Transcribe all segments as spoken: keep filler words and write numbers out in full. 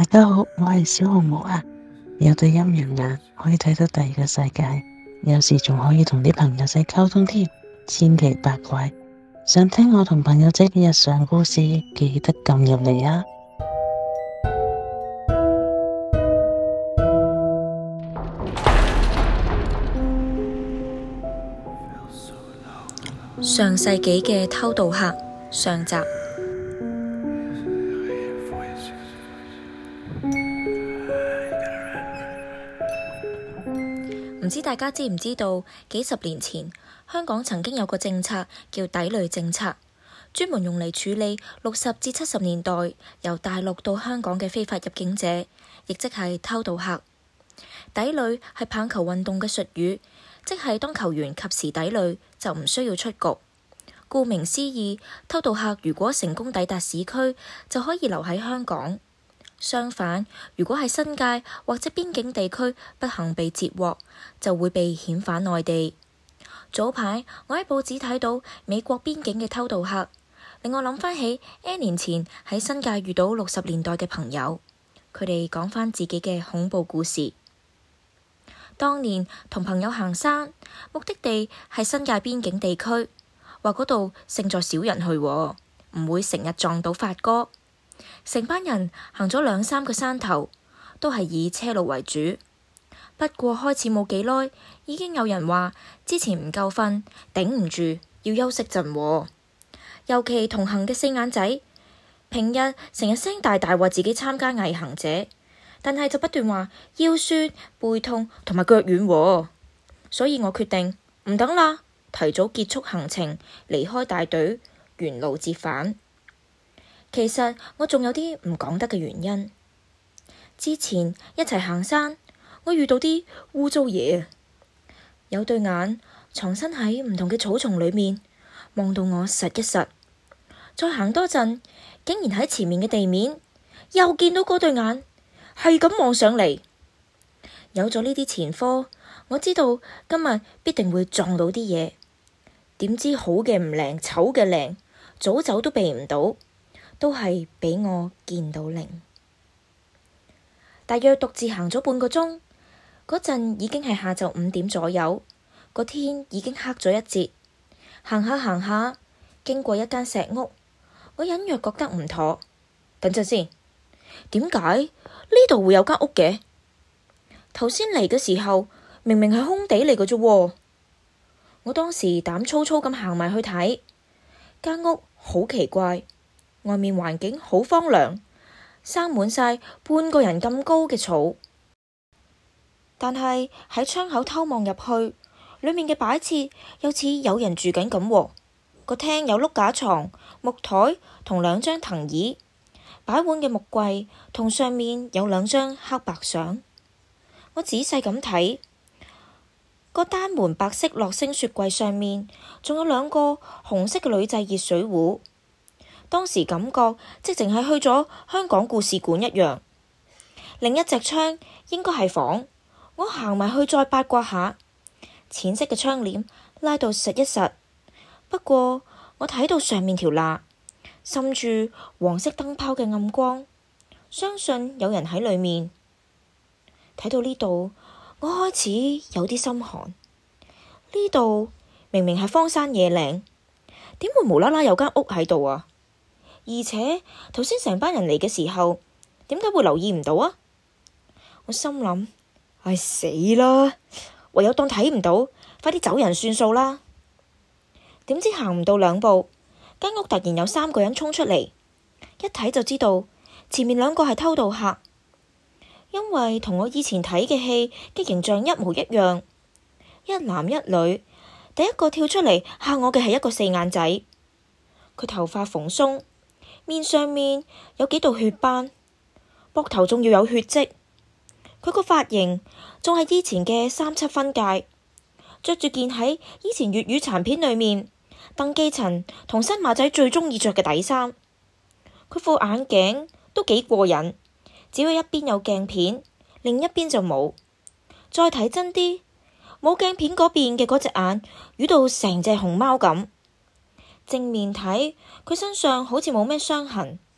大家好，我係小紅帽啊。有對陰陽眼可以睇到第二個世界，有時仲可以同啲朋友仔溝通添，千奇百怪。想聽我同朋友仔嘅日常故事，記得撳入嚟啊！ 上世紀嘅偷渡客上集。唔知大家知唔知道，幾十年前香港曾經有個政策叫抵壘政策，專門用嚟處理六十至七十年代由大陸到香港嘅非法入境者，亦即係偷渡客。抵壘係棒球運動嘅術語，即係當球員及時抵壘就唔需要出局。顧名思義，偷渡客如果成功抵達市區，就可以留喺香港。相反，如果喺新界或者邊境地區不幸被截獲，就會被遣返內地。早排我喺報紙睇到美國邊境嘅偷渡客，令我諗翻起 N 年前喺新界遇到六十年代嘅朋友，佢哋講翻自己嘅恐怖故事。當年同朋友行山，目的地係新界邊境地區，話嗰度勝在少人去，唔會成日撞到發哥。成班人行咗兩三個山頭，都係以車路為主。不過開始冇幾耐，已經有人話之前唔夠瞓，頂唔住，要休息陣。尤其同行嘅四眼仔，平日成日聲大大話自己參加毅行者，但係就不斷話腰酸、背痛同埋腳軟。所以我決定唔等啦，提早結束行程，離開大隊，原路折返。其實我仲有啲唔講得嘅原因。之前一齊行山，我遇到啲污糟嘢，有對眼藏身喺唔同嘅草叢裏面，望到我實一實。再行多陣，竟然喺前面嘅地面又見到嗰對眼，係咁望上嚟。有咗呢啲前科，我知道今日必定會撞到啲嘢。點知好嘅唔靈，醜嘅靈，早走都避唔到。都係俾我見到靈。大約獨自行咗半個鐘，嗰陣已經係下晝五點左右，個天已經黑咗一截。行下行下，經過一間石屋，我隱約覺得唔妥。等陣先，點解呢度會有間屋嘅？頭先嚟嘅時候，明明係空地嚟嘅啫。我當時膽粗粗咁行埋去睇，間屋好奇怪。外面環境好荒涼，生滿晒半個人咁高嘅草。但係喺窗口偷望入去，裏面嘅擺設又似有人住緊咁。個廳有碌架床、木台同兩張藤椅，擺碗嘅木櫃同上面有兩張黑白相。我仔細咁睇，個單門白色樂聲雪櫃上面仲有兩個紅色嘅鋁製熱水壺。當時感覺即淨係去咗香港故事館一樣。另一隻窗應該係房，我行埋去再八卦下，淺色嘅窗簾拉到實一實。不過我睇到上面條罅滲住黃色燈泡嘅暗光，相信有人喺裏面。睇到呢度，我開始有啲心寒。呢度明明係荒山野嶺，點會無啦啦有間屋喺度啊？而且頭先成班人嚟嘅時候，點解會留意唔到啊？我心諗，唉死啦，唯有當睇唔到，快啲走人算數啦。點知行唔到兩步，間屋突然有三個人衝出嚟，一睇就知道前面兩個係偷渡客，因為同我以前睇嘅戲嘅形象一模一樣，一男一女。第一個跳出嚟嚇我嘅係一個四眼仔，佢頭髮蓬鬆，面上面有幾道血斑，膊頭仲要有血跡。佢個髮型仲係以前嘅三七分界，着住件喺以前粵語殘片裏面鄧寄塵同新馬仔最鍾意着嘅底衫。佢副眼鏡都幾過癮，只有一邊有鏡片，另一邊就冇。再睇真啲，冇鏡片嗰邊嘅嗰隻眼瘀到成隻熊貓咁。正面睇，佢身上好似冇咩傷痕，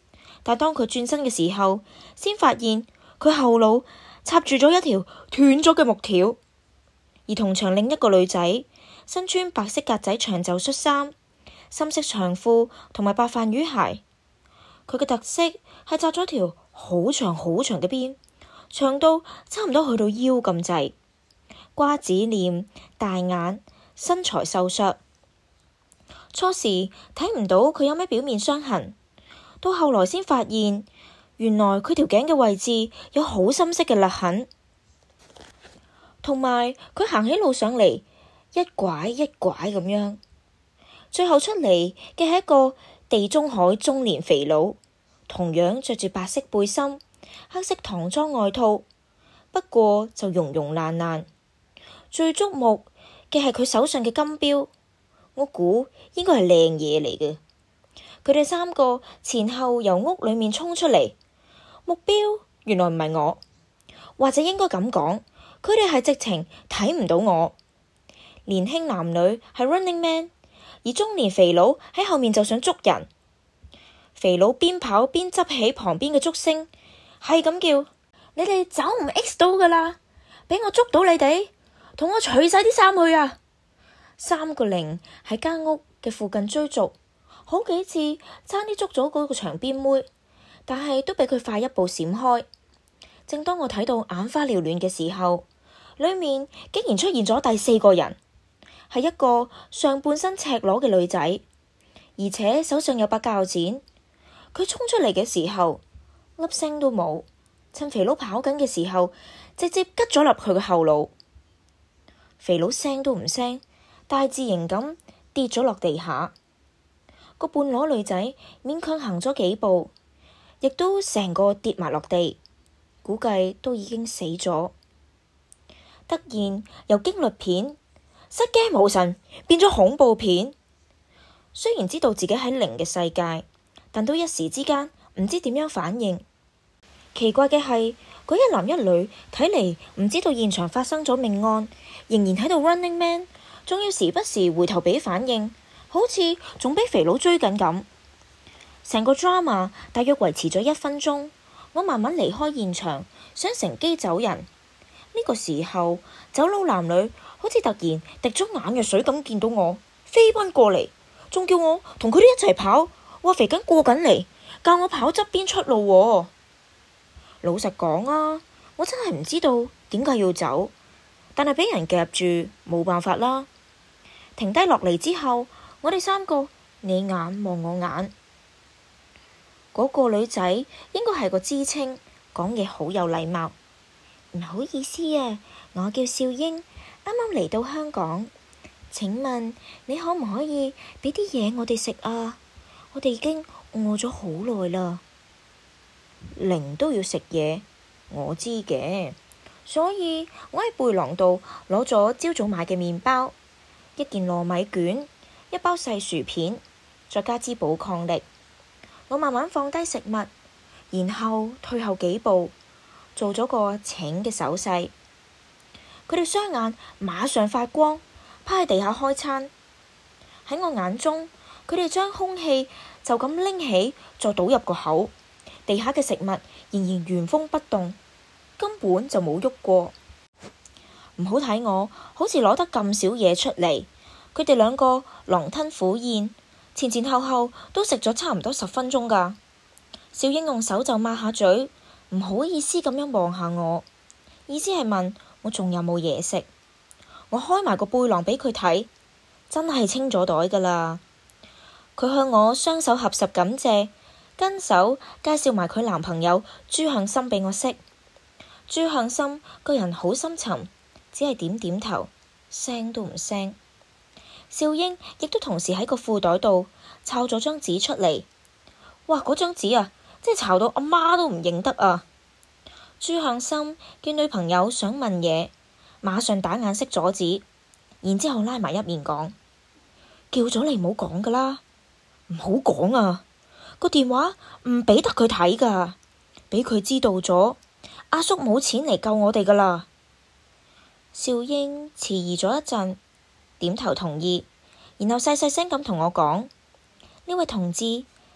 但當佢轉身嘅時候，先發現佢後腦插住咗一條斷咗嘅木條。而同場另一個女仔身穿白色格仔長袖恤衫、深色長褲同埋白飯魚鞋，佢嘅特色係紮咗條好長好長嘅辮，長到差唔多去到腰咁滯，瓜子臉、大眼，身材瘦削。初時睇唔到佢有咩表面傷痕，到後來先發現，原來佢條頸嘅位置有好深色嘅勒痕，同埋佢行起路上嚟一拐一拐咁樣，最後出嚟嘅係一個地中海中年肥佬，同樣着住白色背心、黑色唐裝外套，不過就溶溶爛爛。最矚目嘅係佢手上嘅金錶，我估應該係靚嘢嚟嘅。佢哋三個前後由屋裏面衝出嚟，目標原來唔係我，或者應該咁講，佢哋係直情睇唔到我。年輕男女係 running man， 而中年肥佬喺後面就想捉人。肥佬邊跑邊執起旁邊嘅竹升，係咁叫：你哋走唔 X 到噶啦，俾我捉到你哋，同我除晒啲衫去啊！三個零喺間屋嘅附近追逐，好幾次差啲捉咗嗰個長辮妹，但係都俾佢快一步閃開。正當我睇到眼花繚亂嘅時候，裏面竟然出現咗第四個人，係一個上半身赤裸嘅女仔，而且手上有把鉸剪。佢衝出嚟嘅時候，粒聲都冇，趁肥佬跑緊嘅時候，直接吉咗入佢嘅後腦。肥佬聲都唔聲，大字型咁跌咗落地下。個半裸女仔勉強行咗幾步，亦都成個跌埋落地，估計都已經死咗。突然由驚慄片失驚無神變咗恐怖片。雖然知道自己喺靈嘅世界，但都一時之間唔知點樣反應。奇怪嘅係，嗰一男一女睇嚟唔知道現場發生咗命案，仍然喺度 running man， 仲要時不時回頭俾反應，好似仲俾肥佬追緊咁。成個 drama 大約維持咗一分鐘，我慢慢離開現場，想乘機走人。呢個時候，走佬男女好似突然滴咗眼藥水咁，見到我飛奔過嚟，仲叫我同佢哋一齊跑。話肥緊過緊嚟，教我跑側邊出路喎。老實講啊，我真係唔知道點解要走，但係俾人夾住，冇辦法啦。停低落嚟之後，我哋三個你眼望我眼。嗰個女仔應該係個知青，講嘢好有禮貌。唔好意思啊，我叫少英，啱啱嚟到香港。請問你可唔可以俾啲嘢我哋食啊？我哋已經餓咗好耐啦。靈都要食嘢，我知嘅，所以我喺背囊度攞咗朝早買嘅麵包，一件糯米卷，一包細薯片，再加支補抗力。我慢慢放低食物，然後退後幾步，做咗個請嘅手勢。佢哋雙眼馬上發光，趴喺地下開餐。喺我眼中，佢哋將空氣就咁拎起，再倒入個口，地下嘅食物仍然原封不動，根本就冇喐過。唔好睇我，好似攞得咁少嘢出嚟。佢哋兩個狼吞虎咽，前前後後都食咗差唔多十分鐘噶。小英用手就抹下嘴，唔好意思咁樣望下我，意思係問我仲有冇嘢食。我開埋個背囊俾佢睇，真係清咗袋噶啦。佢向我雙手合十感謝，跟手介紹埋佢男朋友朱向深俾我識。朱向深個人好深沉，只係點點頭，聲都唔聲。少英亦都同時喺個褲袋度抄咗張紙出嚟。哇！嗰張紙啊，真係抄到阿媽都唔認得啊！朱向深見女朋友想問嘢，馬上打眼色阻止，然之後拉埋一面講：叫咗你唔好講噶啦，唔好講啊！個電話唔俾得佢睇噶，俾佢知道咗，阿叔冇錢嚟救我哋噶啦。少英遲疑咗一陣，點頭同意，然後細細聲咁同我講：呢位同志，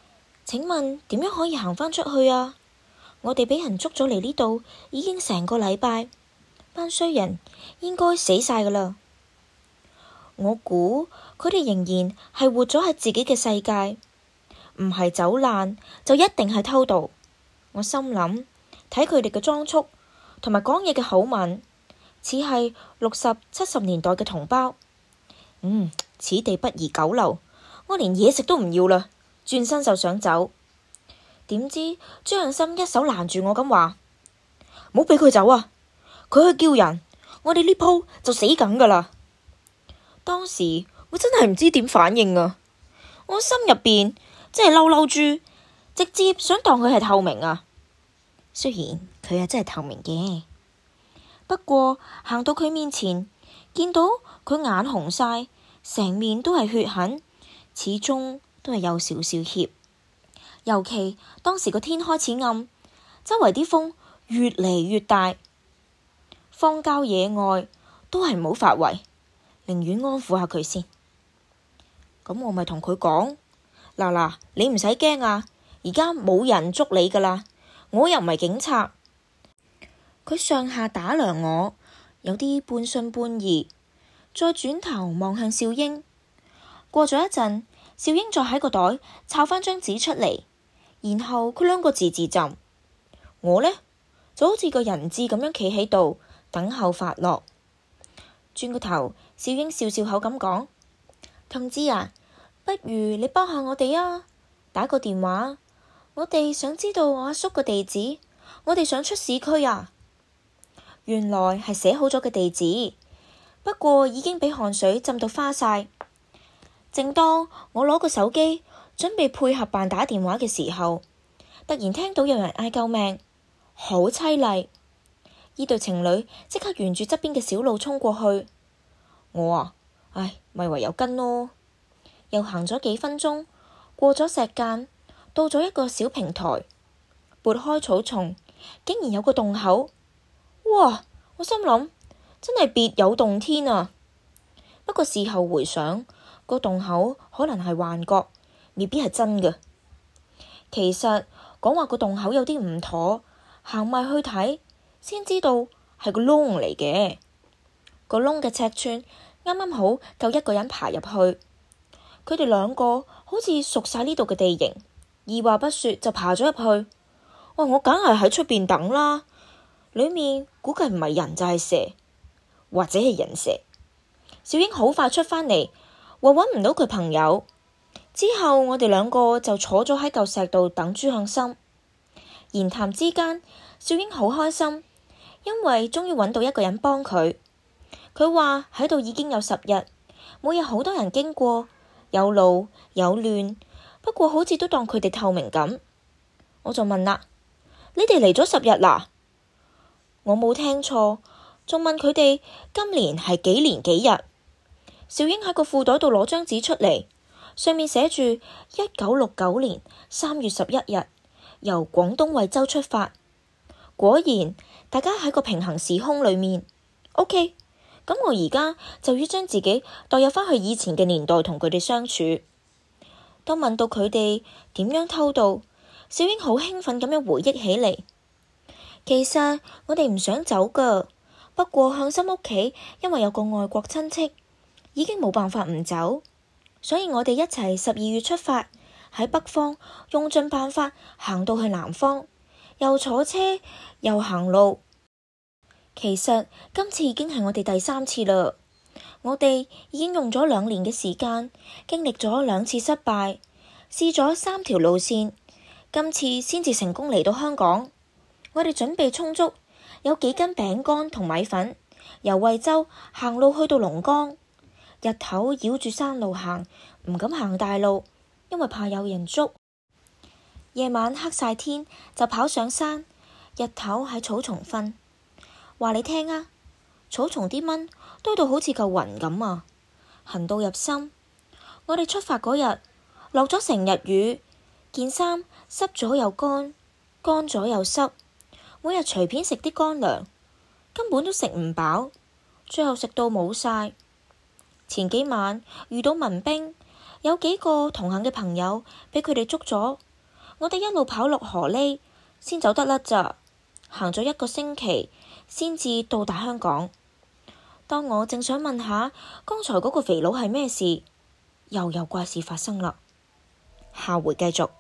請問點樣可以行返出去啊？我哋俾人捉咗嚟呢度已經成個禮拜，班衰人應該死晒㗎喇。我估佢哋仍然係活咗喺自己嘅世界，唔係走難就一定係偷渡。我心諗，睇佢哋嘅裝束同埋講嘢嘅口吻，似係六十七十年代嘅同胞。嗯，此地不宜久留，我連嘢食都唔要啦，轉身就想走。點知張向心一手攔住我咁話：唔好俾佢走啊！佢去叫人，我哋呢鋪就死梗噶啦。當時我真係唔知點反應啊！我心入邊真係嬲嬲豬，直接想當佢係透明啊！雖然佢係真係透明嘅，不過行到佢面前，見到佢眼紅晒，成面都係血痕，始終都係有少少怯。尤其當時個天開始暗，周圍啲風越嚟越大，荒郊野外都係唔好發圍，寧願安撫下佢先。咁我咪同佢講：嗱嗱，你唔使驚啊，而家冇人捉你噶啦，我又唔係警察。佢上下打量我，有啲半信半疑，再轉頭望向少英。過咗一陣，少英再喺個袋抄返張紙出嚟，然後佢兩個字字浸。我呢，就好似個人質咁樣企喺度等候發落。轉個頭，少英笑笑口咁講：同志啊，不如你幫下我哋啊，打個電話，我哋想知道我阿叔個地址，我哋想出市區啊。原來係寫好咗嘅地址，不過已經俾汗水浸到花晒。正當我攞個手機準備配合扮打電話嘅時候，突然聽到有人嗌救命，好淒厲。呢對情侶即刻沿住側邊嘅小路衝過去。我啊，唉，咪唯有跟咯。又行咗幾分鐘，過咗石澗，到咗一個小平台，撥開草叢，竟然有個洞口。哇！我心諗真係別有洞天啊。不過事後回想，個洞口可能係幻覺，未必係真嘅。其實講話個洞口有啲唔妥，行埋去睇先知道係個窿嚟嘅。個窿嘅尺寸啱啱好夠一個人爬入去。佢哋兩個好似熟晒呢度嘅地形，二話不說就爬咗入去。哇！我梗係喺出邊等啦，裏面估計唔係人就係蛇，或者係人蛇。小英好快出返嚟，話搵唔到佢朋友。之後我哋兩個就坐咗喺嚿石度等朱向深。言談之間，小英好開心，因為終於搵到一個人幫佢。佢話喺度已經有十日，每日好多人經過，有路有亂，不過好似都當佢哋透明咁。我就問啦：你哋嚟咗十日啦？我冇聽錯，仲問佢哋今年係幾年幾日？小英喺個褲袋度攞張紙出嚟，上面寫住一九六九年三月十一日，由廣東惠州出發。果然，大家喺個平行時空裏面。OK，咁我而家就要將自己代入返去以前嘅年代同佢哋相處。當問到佢哋點樣偷渡，小英好興奮咁樣回憶起嚟。其實我哋唔想走噶，不過向心屋企因為有個外國親戚，已經冇辦法唔走，所以我哋一齊十二月出發，喺北方用盡辦法行到去南方，又坐車又行路。其實今次已經係我哋第三次啦，我哋已經用咗兩年嘅時間，經歷咗兩次失敗，試咗三條路線，今次先至成功嚟到香港。我哋準備充足，有幾斤餅乾同米粉，由惠州行路去到龍崗。日頭繞住山路行，唔敢行大路，因為怕有人捉。夜晚黑晒天就跑上山，日頭喺草叢瞓。話你聽啊，草叢啲蚊堆到好似嚿雲咁啊，痕到入心。我哋出發嗰日落咗成日雨，件衫濕咗又乾，乾咗又濕。每日隨便食啲乾糧，根本都食唔飽，最後食到冇晒。前幾晚遇到民兵，有幾個同行嘅朋友俾佢哋捉咗， 我哋一路跑落河呢，先走得甩咋，行咗一個星期先至到達香港。當我正想問下剛才嗰個肥佬係咩事，又有怪事發生啦。下回繼續。